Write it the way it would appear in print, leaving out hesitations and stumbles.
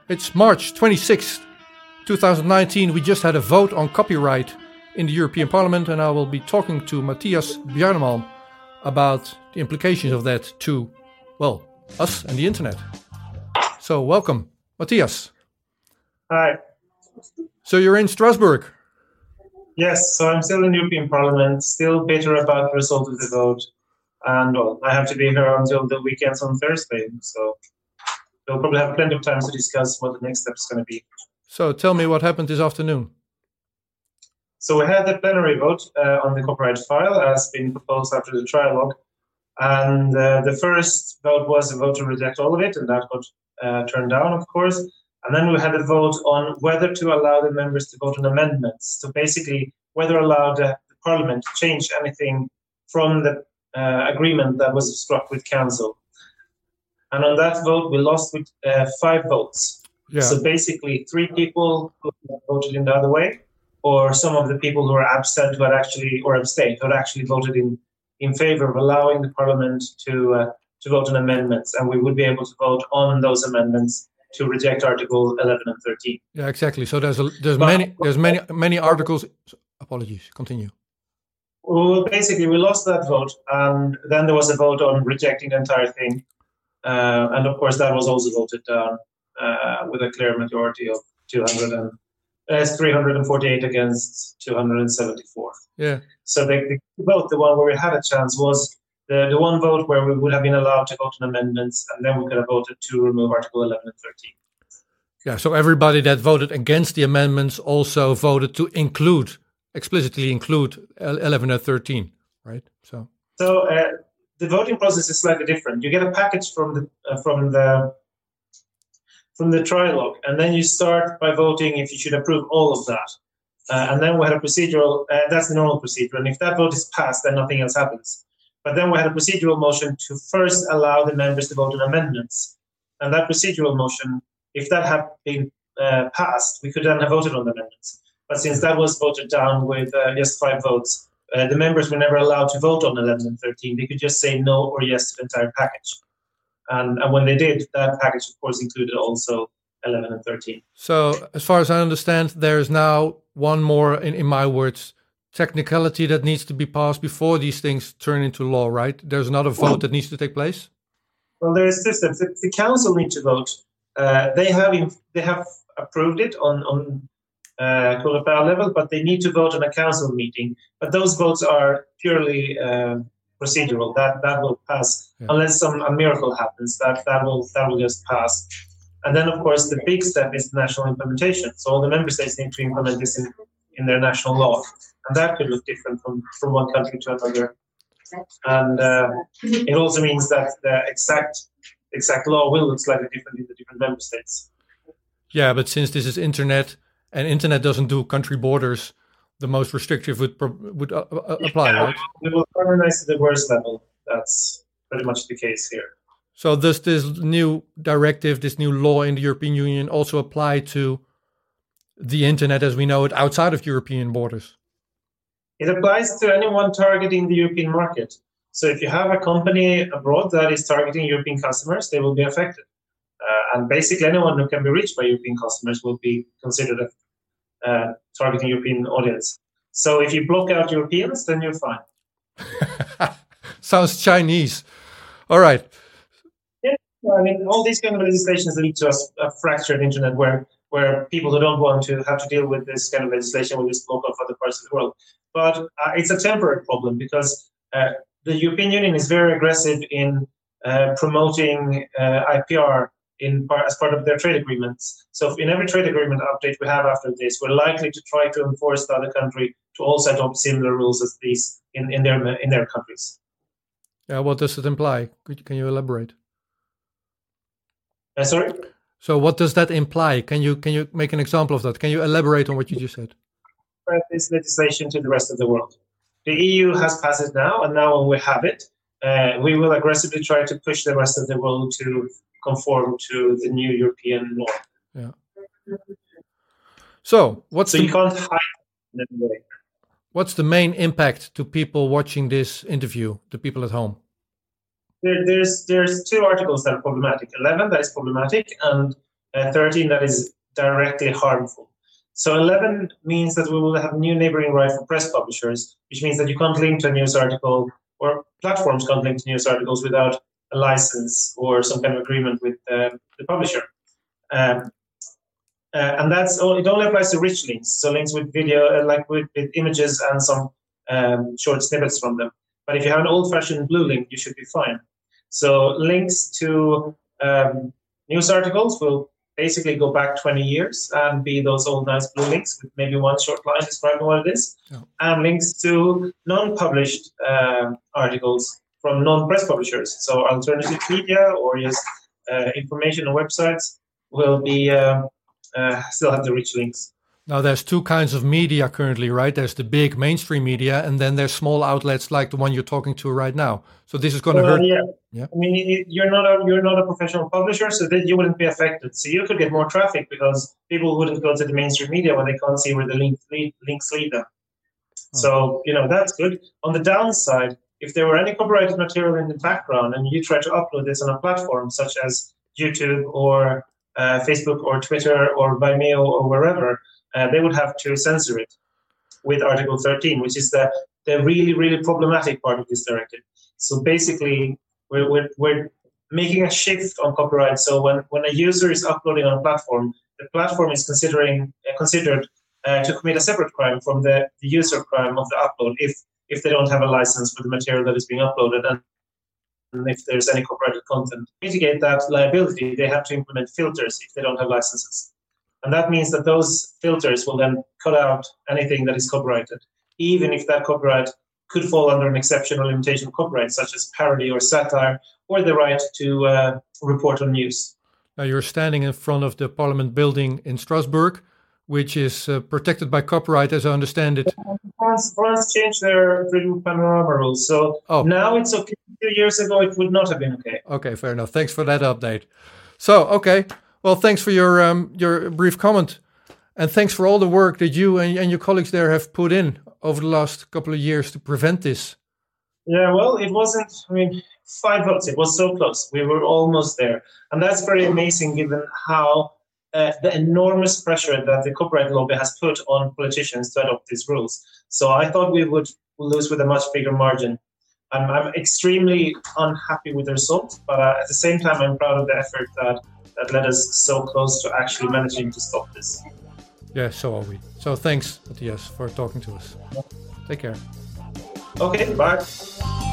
It's March 26th, 2019. We just had a vote on copyright in the European Parliament, and I will be talking to Matthias Bjarneman about the implications of that to, well, us and the internet. So welcome, Matthias. Hi. So you're in Strasbourg? Yes, so I'm still in the European Parliament, still bitter about the result of the vote. And well, I have to be here until the weekends on Thursday. So we'll probably have plenty of time to discuss what the next step is going to be. So tell me what happened this afternoon. So we had the plenary vote on the copyright file as been proposed after the trialogue. And the first vote was a vote to reject all of it, and that got turned down, of course. And then we had a vote on whether to allow the members to vote on amendments. So basically, whether allow the Parliament to change anything from the agreement that was struck with Council. And on that vote, we lost with 5 votes. Yeah. So basically, 3 people who voted in the other way, or some of the people who were absent who had actually, or abstained, who had actually voted in favor of allowing the Parliament to vote on amendments. And we would be able to vote on those amendments to reject Article 11 and 13. Yeah, exactly. So there's many articles. Apologies. Continue. Well, basically, we lost that vote, and then there was a vote on rejecting the entire thing. And of course, that was also voted down with a clear majority of 348 against 274. Yeah. So the vote, the one where we had a chance, was the one vote where we would have been allowed to vote on amendments, and then we could have voted to remove Article 11 and 13. Yeah, so everybody that voted against the amendments also voted to explicitly include 11 and 13, right? So the voting process is slightly different. You get a package from the trialogue, and then you start by voting if you should approve all of that. And then we had a procedural, that's the normal procedure, and if that vote is passed, then nothing else happens. But then we had a procedural motion to first allow the members to vote on amendments. And that procedural motion, if that had been passed, we could then have voted on the amendments. But since that was voted down with just 5 votes, the members were never allowed to vote on 11 and 13. They could just say no or yes to the entire package. And when they did, that package, of course, included also 11 and 13. So as far as I understand, there's now one more, in my words, technicality that needs to be passed before these things turn into law, right? There's another vote that needs to take place? Well, there's two steps. The council need to vote. They have approved it on Coreper level, but they need to vote on a council meeting. But those votes are purely procedural. That will pass, unless a miracle happens. That will just pass. And then, of course, the big step is national implementation. So all the member states need to implement this in their national law. And that could look different from one country to another. And it also means that the exact law will look slightly different in the different member states. Yeah, but since this is internet, and internet doesn't do country borders, the most restrictive would apply, right? We will harmonize to the worst level. That's pretty much the case here. So does this new directive, this new law in the European Union also apply to the internet as we know it outside of European borders? It applies to anyone targeting the European market. So if you have a company abroad that is targeting European customers, they will be affected. And basically anyone who can be reached by European customers will be considered a targeting European audience. So if you block out Europeans, then you're fine. Sounds Chinese. All right. Yeah, I mean, all these kind of legislations lead to a fractured internet where people who don't want to have to deal with this kind of legislation will just block off other parts of the world. But it's a temporary problem because the European Union is very aggressive in promoting IPR as part of their trade agreements. So in every trade agreement update we have after this, we're likely to try to enforce the other country to also adopt similar rules as these in their countries. Yeah, what does it imply? Can you elaborate? Sorry? So what does that imply? Can you make an example of that? Can you elaborate on what you just said? This legislation to the rest of the world. The EU has passed it now, and now when we have it, we will aggressively try to push the rest of the world to conform to the new European law. Yeah. So you can't hide in any way. What's the main impact to people watching this interview, the people at home? There's 2 articles that are problematic. 11 that is problematic, and 13 that is directly harmful. So 11 means that we will have new neighboring right for press publishers, which means that you can't link to a news article, or platforms can't link to news articles without a license or some kind of agreement with the publisher. And it only applies to rich links, so links with video, like with images and some short snippets from them. But if you have an old-fashioned blue link, you should be fine. So links to news articles will basically go back 20 years and be those old nice blue links with maybe one short line describing what it is. Oh. And links to non-published articles from non-press publishers. So alternative media or just information on websites will be still have the rich links. Now, there's two kinds of media currently, right? There's the big mainstream media, and then there's small outlets like the one you're talking to right now. So this is going to hurt. Yeah. I mean, you're not a professional publisher, so that you wouldn't be affected. So you could get more traffic because people wouldn't go to the mainstream media when they can't see where the links lead them. Oh. So that's good. On the downside, if there were any copyrighted material in the background and you try to upload this on a platform such as YouTube or Facebook or Twitter or Vimeo or wherever, they would have to censor it with Article 13, which is the really, really problematic part of this directive. So basically, we're making a shift on copyright. So when a user is uploading on a platform, the platform is considered to commit a separate crime from the user crime of the upload if they don't have a license for the material that is being uploaded. And if there's any copyrighted content, to mitigate that liability, they have to implement filters if they don't have licenses. And that means that those filters will then cut out anything that is copyrighted, even if that copyright could fall under an exception or limitation of copyright, such as parody or satire, or the right to report on news. Now, you're standing in front of the Parliament building in Strasbourg, which is protected by copyright, as I understand it. France changed their Freedom Panorama rules, so now it's okay. 2 years ago, it would not have been okay. Okay, fair enough. Thanks for that update. So, okay. Well, thanks for your brief comment, and thanks for all the work that you and your colleagues there have put in over the last couple of years to prevent this. Yeah, well, it wasn't, 5 votes. It was so close. We were almost there. And that's very amazing given how the enormous pressure that the copyright lobby has put on politicians to adopt these rules. So I thought we would lose with a much bigger margin. I'm extremely unhappy with the result, but at the same time, I'm proud of the effort that led us so close to actually managing to stop this. Yeah, so are we. So thanks, Matthias, for talking to us. Take care. Okay, bye.